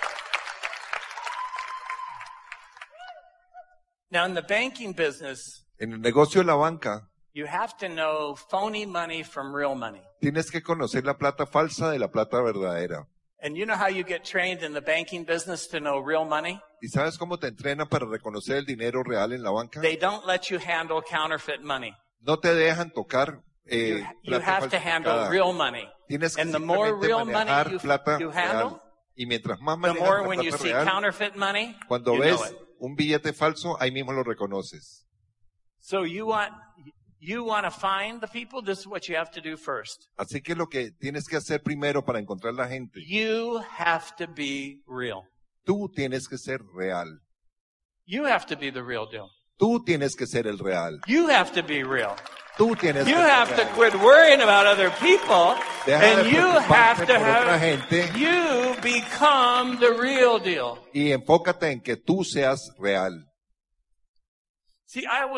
Now in the banking business, En el negocio de la banca, you have to know phony money from real money. tienes que conocer la plata falsa de la plata verdadera. And you know how you get trained in the banking business to know real money? ¿Y sabes cómo te entrenan para reconocer el dinero real en la banca? They don't let you handle counterfeit money. No te dejan tocar You plata have to handle falsificada. real money. Tienes que And the more simplemente real money manejar plata you real. handle, Y mientras más the manejas more la when you plata see real, counterfeit money, cuando you ves know it. un billete falso, ahí mismo lo reconoces. So you want to find the people? This is what you have to do first. Así que lo que tienes que hacer primero para encontrar la gente, You have to be real. tú tienes que ser real. You have to be the real deal. Tú tienes que ser el real. You have to be real. Tú tienes You que ser have to real. quit worrying about other people, Deja de and you preocuparte have to por otra have, gente you become the real deal. y enfócate en que tú seas real. See, I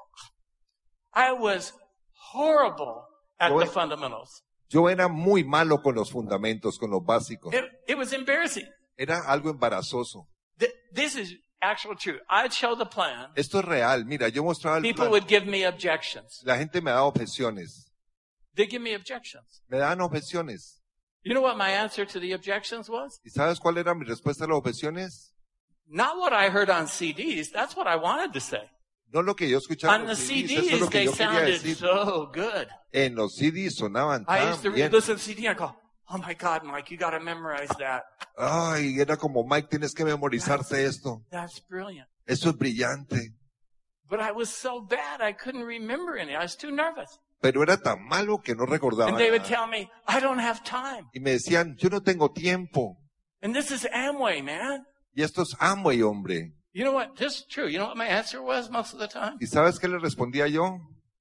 was horrible at Yo- the fundamentals. Yo era muy malo con los fundamentos, con los básicos. It was embarrassing. Era algo embarazoso. This is actual truth. I'd show the plan. Esto es real. Mira, yo mostraba el People plan. would give me objections. La gente me daba objeciones. They give me objections. Me daban objeciones. You know what my answer to the objections was? ¿Y sabes cuál era mi respuesta a las objeciones? Not what I heard on CDs. That's what I wanted to say. No lo que yo escuchaba On en the los CDs, eso es lo CDs, que they yo quería sounded decir. so good. En los CDs sonaban I tan used to bien. listen to CD and I go, oh my God, Mike, you got to memorize that. Ay, era como, Mike, tienes que memorizarte esto. That's brilliant. Eso es brillante. But I was so bad, I couldn't remember any. I was too nervous. Pero era tan malo que no recordaba And they would nada. tell me, I don't have time. Y me decían, yo no tengo tiempo. And this is Amway, man. Y esto es Amway, hombre. You know what? This is true. You know what my answer was most of the time? ¿Y sabes qué le respondía yo?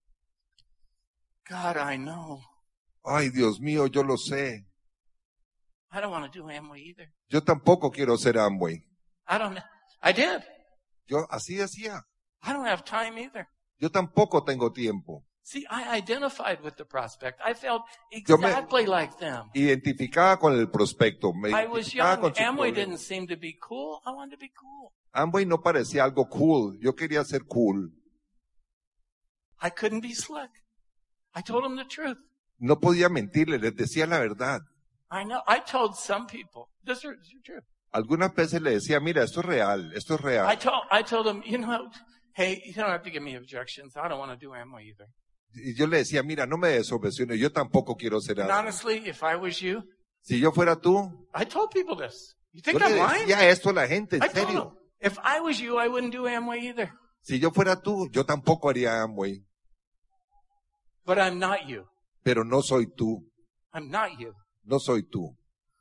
God, I know. Ay, Dios mío, yo lo sé. I don't want to do Amway either. Yo tampoco quiero ser Amway. I did. Yo así decía. I don't have time either. Yo tampoco tengo tiempo. See, I identified with the prospect. I felt Yo me- exactly like them. Identificaba con el prospecto. Me I was identificaba young. con su Amway problema. didn't seem to be cool. I wanted to be cool. Amway no parecía algo cool. Yo quería ser cool. I couldn't be slick. I told them the truth. No podía mentirle, les decía la verdad. I know. I told some people, this is true. Algunas veces le decía, mira, esto es real, esto es real. I told them, you know, hey, you don't have to give me objections. I don't want to do Amway either. Y yo le decía, mira, no me des objeciones, yo tampoco quiero ser And Amway. honestly, if I was you, Si yo fuera tú, I told people this. You yo think le I'm lying? decía esto a la gente, en I told them, serio. if I was you, I wouldn't do Amway either. Si yo fuera tú, yo tampoco haría Amway. But I'm not you. Pero no soy tú, I'm not you. no soy tú.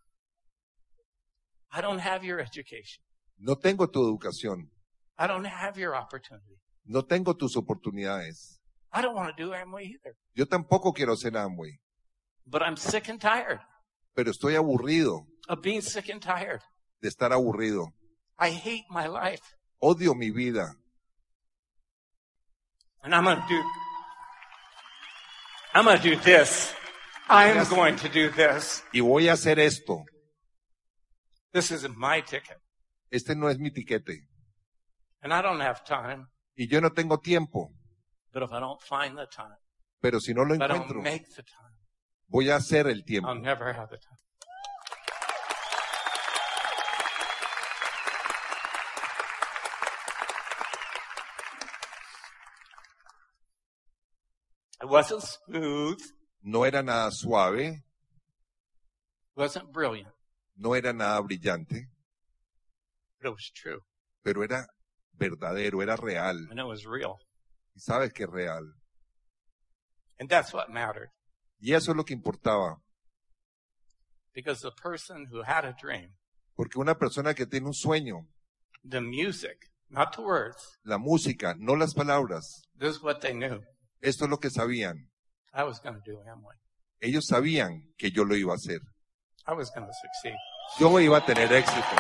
I don't have your education. No tengo tu educación, I don't have your opportunity. no tengo tus oportunidades. I don't want to do Amway either. Yo tampoco quiero ser Amway, But I'm sick and tired pero estoy aburrido of being sick and tired. de estar aburrido. I hate my life. Odio mi vida. And I'm going to do this. I'm Yes. going to do this. Y voy a hacer esto. This isn't my ticket. Este no es mi tiquete. And I don't have time. Y yo no tengo tiempo. But if I don't find the time, Pero si no lo if I don't encuentro, make the time, voy a hacer el tiempo. I'll never have the time. It wasn't smooth. No era nada suave, It wasn't brilliant. no era nada brillante, But it was true. pero era verdadero, era real. And it was real. Y sabes que es real. And that's what mattered. Y eso es lo que importaba. Because the person who had a dream, Porque una persona que tiene un sueño, the music, not the words, la música, no las palabras, this is what they knew. esto es lo que sabían. I was going to do Amway. Ellos sabían que yo lo iba a hacer. I was going to succeed. Yo iba a tener éxito.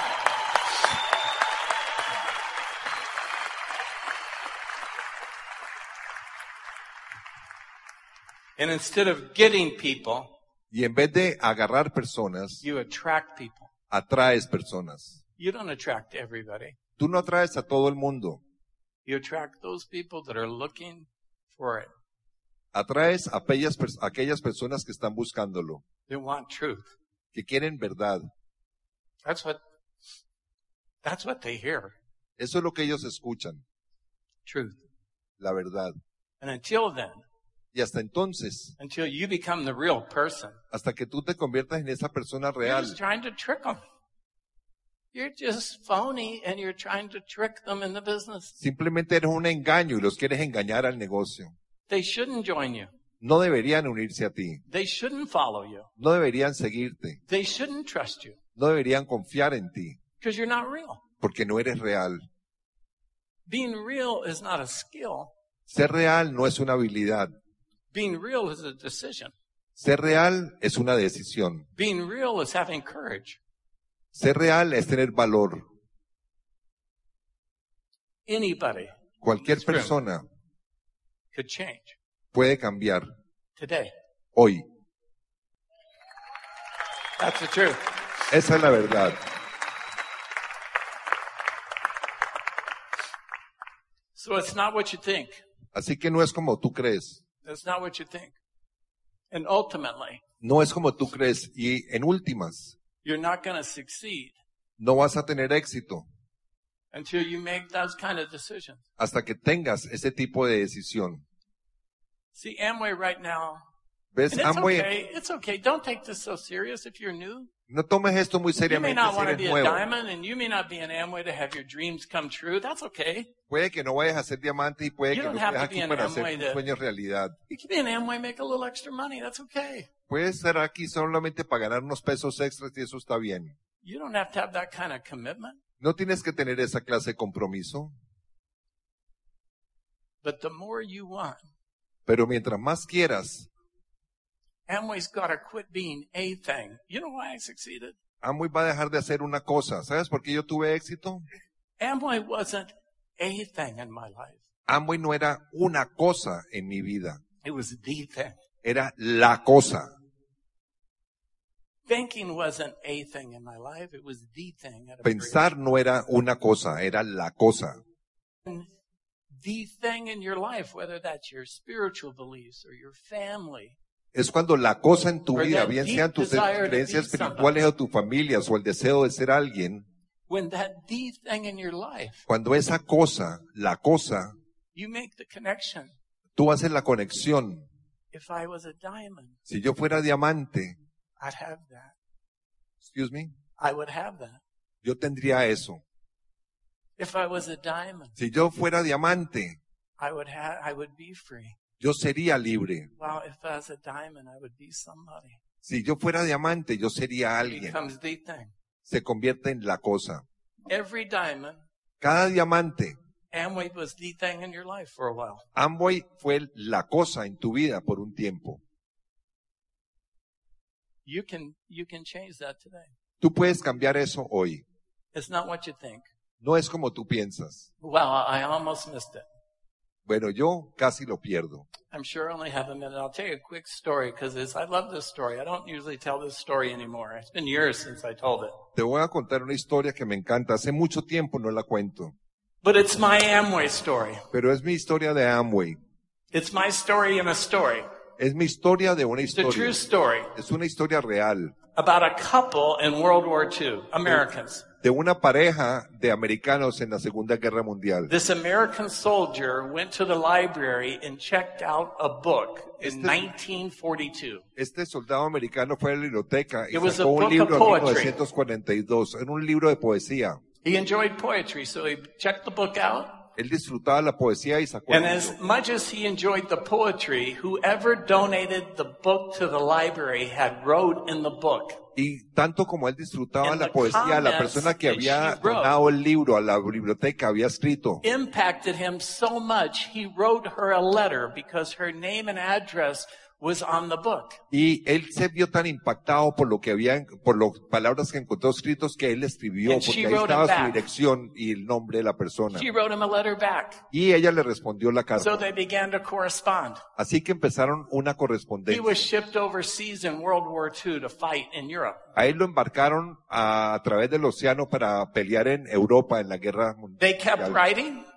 And instead of getting people, Y en vez de agarrar personas, you attract people. atraes personas. You don't attract everybody. Tú no atraes a todo el mundo. You attract those people that are looking for it. Atraes a aquellas personas que están buscándolo, They want truth. que quieren verdad. That's what they hear. Eso es lo que ellos escuchan, Truth. la verdad. And until then, Y hasta entonces, until you become the real person, hasta que tú te conviertas en esa persona you're real, just trying to trick them. You're just phony and you're trying to trick them in the business. simplemente eres un engaño y los quieres engañar al negocio. They shouldn't join you. No deberían unirse a ti, They shouldn't follow you. no deberían seguirte, They shouldn't trust you no deberían confiar en ti, because you're not real. porque no eres real. Being real is not a skill. Ser real no es una habilidad, Being real is a decision. ser real es una decisión, Being real is having courage. ser real es tener valor. Anybody Cualquier persona could change puede cambiar today. hoy. That's the truth. Esa es la verdad. So it's not what you think. Así que no es como tú crees, It's not what you think. And ultimately, no es como tú crees y en últimas you're not going to succeed no vas a tener éxito until you make those kind of decisions. hasta que tengas ese tipo de decisión. See, Amway right now, ¿Ves? and it's Amway, okay, it's okay. Don't take this so serious if you're new. no tomes esto muy You may seriamente not si want to eres be a nuevo. diamond and you may not be an Amway to have your dreams come true. That's okay. Puede que no vayas a ser diamante y puede You que no don't have estés to be aquí an para Amway hacer tus to- sueños realidad. You can be an Amway, make a little extra money. That's okay. Puedes estar aquí solamente para ganar unos pesos extras y eso está bien. You don't have to have that kind of commitment. No tienes que tener esa clase de compromiso, But the more you want, pero mientras más quieras, Amway's got to quit being a thing. You know why I succeeded? Amway va a dejar de hacer una cosa. ¿Sabes por qué yo tuve éxito? Amway wasn't a thing in my life. Amway no era una cosa en mi vida, It was the thing. era la cosa. Thinking wasn't a thing in my life. It was the thing. At a very- Pensar no era una cosa, era la cosa. The thing in your life, whether that's your spiritual beliefs or your family. Es cuando la cosa en tu Or vida, that bien deep sean tus desire to creencias be espirituales o tus familias o el deseo de ser alguien, When that the thing in your life, cuando esa cosa, la cosa, you make the connection. tú haces la conexión. If I was a diamond, Si yo fuera diamante, I'd have that. excuse me, I would have that. yo tendría eso. If I was a diamond, Si yo fuera diamante, I would be free. yo sería libre. Well, if I was a diamond, I would be somebody. Si yo fuera diamante, yo sería It alguien. becomes the thing. Se convierte en la cosa. Every diamond, Cada diamante, Amway was the thing in your life for a while. Amway fue la cosa en tu vida por un tiempo. You can change that today. Tú puedes cambiar eso hoy. It's not what you think. No es como tú piensas. Well, I almost missed it. Bueno, yo casi lo pierdo. I'm sure I only have a minute. I'll tell you a quick story because I love this story. I don't usually tell this story anymore. It's been years since I told it. Te voy a contar una historia que me encanta. Hace mucho tiempo no la cuento. But it's my Amway story. Pero es mi historia de Amway. It's my story in a story. Es mi historia de una It's a true historia. story Es una historia real. about a couple in World War II, Americans. De una pareja de americanos en la Segunda Guerra Mundial. This American soldier went to the library and checked out a book in 1942. Este soldado americano fue a la biblioteca y It was a sacó book un libro of en poetry. 1942. Era un libro de poesía. He enjoyed poetry, so he checked the book out. Él disfrutaba la poesía y sacó el And as libro. much as he enjoyed the poetry, whoever donated the book to the library had wrote in the book. Y tanto como él disfrutaba And la the poesía, la comments persona que that había she wrote donado el libro a la biblioteca había escrito. Impacted him so much, he wrote her a letter because her name and address was on the book. Y él se vio tan impactado por lo que había, por las palabras que encontró escritos que él escribió, And she porque ahí wrote estaba him su back. dirección y el nombre de la persona. She wrote him a letter back. Y ella le respondió la So carta. they began to correspond. Así que empezaron una He correspondencia. was shipped overseas in World War II to fight in Europe. A él lo embarcaron a través del océano para pelear en Europa en la guerra They kept mundial. writing.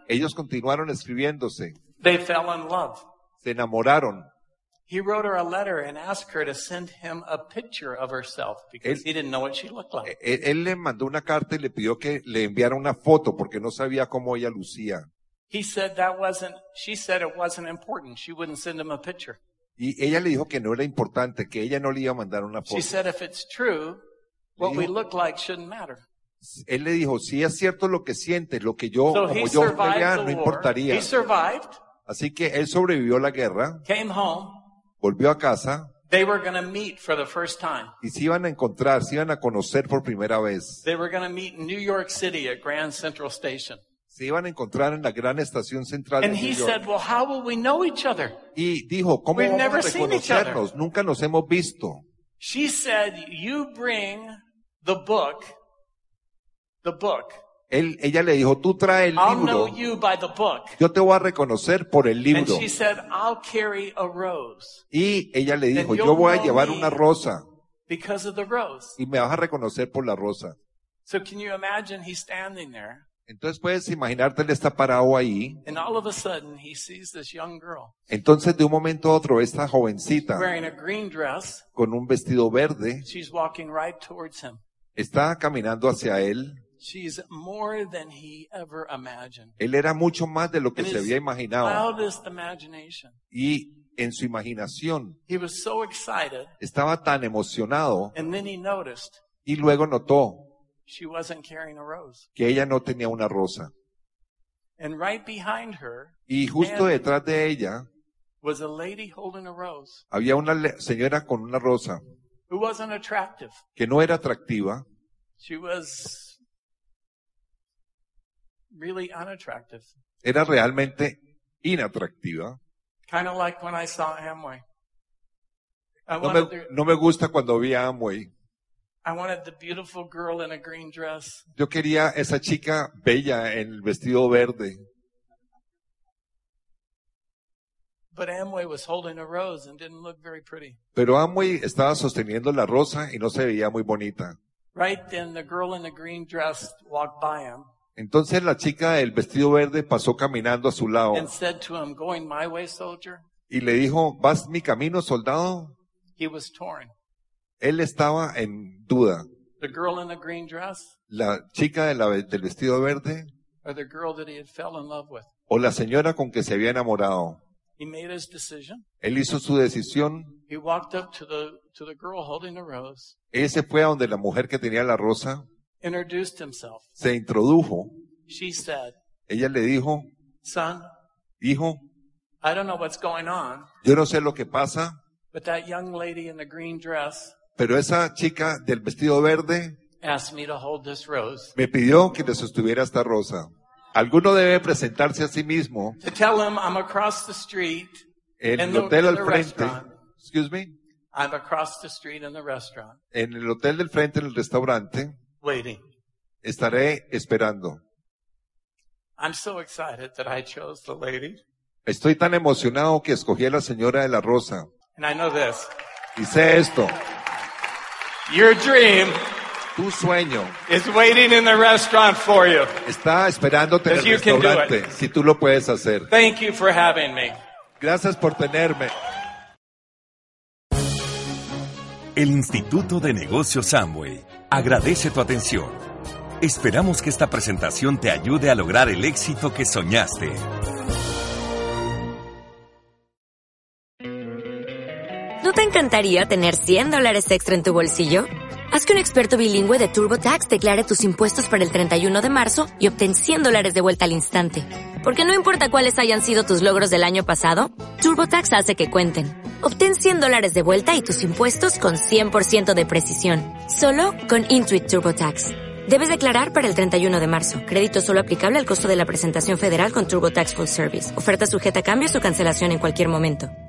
Ellos continuaron escribiéndose, They fell in love. se enamoraron. He wrote her a letter and asked her to send him a picture of herself because he didn't know what she looked like. Él le mandó una carta y le pidió que le enviara una foto porque no sabía cómo ella lucía. She said it wasn't important. She wouldn't send him a picture. Y ella le dijo que no era importante, que ella no le iba a mandar una She foto. said if it's true, what we look like shouldn't matter. Él le dijo, si es cierto lo que sientes, lo que yo, So como he yo me vea, survived no the war. importaría. He survived, Así que él sobrevivió a la guerra, came home. volvió a casa They were going to meet for the first time. y se iban a encontrar, se iban a conocer por primera vez. They were going to meet in New York City at Grand Central Station. Se iban a encontrar en la gran estación central de And New he York. said, well, how will we know each other? Y dijo, ¿cómo We've vamos a never seen each other. reconocernos? Nunca nos hemos visto. She said, you bring the book. Ella le dijo, tú trae el I'll know libro, you by the book. yo te voy a reconocer por el And libro. she said, I'll carry a rose Y ella le dijo, Then yo you'll voy a know llevar me. una rosa because of the rose. y me vas a reconocer por la rosa. So can you imagine he's standing there Entonces puedes imaginarte, él está parado ahí. and all of a sudden he sees this young girl Entonces de un momento a otro, esta jovencita wearing a green dress. con un vestido verde She's walking right towards him. está caminando hacia él. She's more than he ever imagined. Él era mucho más de lo que In se his había imaginado. wildest imagination. Y en su imaginación He was so excited, estaba tan emocionado and then he noticed y luego notó she wasn't carrying a rose. que ella no tenía una rosa. And right behind her Y justo And- detrás de ella was a lady holding a rose había una señora con una rosa who wasn't attractive. que no era atractiva, She was really unattractive. era realmente inatractiva. Kind of like when I saw Amway. No me gusta cuando vi a Amway. I wanted the beautiful girl in a green dress. Yo quería esa chica bella en el vestido verde, But Amway was holding a rose and didn't look very pretty. pero Amway estaba sosteniendo la rosa y no se veía muy bonita. Right then, the girl in the green dress walked by him Entonces la chica del vestido verde pasó caminando a su lado and said to him, "Going my way, soldier?" y le dijo, ¿vas mi camino, soldado? He was torn. Él estaba en duda. The girl in the green dress La chica del vestido verde or the girl that he had fell in love with. o la señora con que se había enamorado. He made his decision. Él hizo su decisión. He walked up to the girl holding the rose, Él se fue a donde la mujer que tenía la rosa, introduced himself. se introdujo. She said, Ella le dijo, "Son, hijo, I don't know what's going on, yo no sé lo que pasa, but that young lady in the green dress pero esa chica del vestido verde asked me to hold this rose me pidió que le sostuviera esta rosa. Alguno debe presentarse a sí mismo to tell him I'm across the street en in el hotel the al frente. restaurant. Excuse me. I'm across the street in the restaurant, En el hotel del frente, en el restaurante, waiting. estaré esperando. I'm so excited that I chose the lady. Estoy tan emocionado que escogí a la señora de la rosa. And I know this. Y sé esto, Your dream tu sueño is waiting in the restaurant for you. está esperándote en el Because you can do restaurante, si tú lo puedes hacer. Thank you for having me. Gracias por tenerme. El Instituto de Negocios Amway agradece tu atención. Esperamos que esta presentación te ayude a lograr el éxito que soñaste. ¿No te encantaría tener $100 extra en tu bolsillo? Haz que un experto bilingüe de TurboTax declare tus impuestos para el 31 de marzo y obtén $100 de vuelta al instante. Porque no importa cuáles hayan sido tus logros del año pasado, TurboTax hace que cuenten. Obtén $100 de vuelta y tus impuestos con 100% de precisión. Solo con Intuit TurboTax. Debes declarar para el 31 de marzo. Crédito solo aplicable al costo de la presentación federal con TurboTax Full Service. Oferta sujeta a cambios o cancelación en cualquier momento.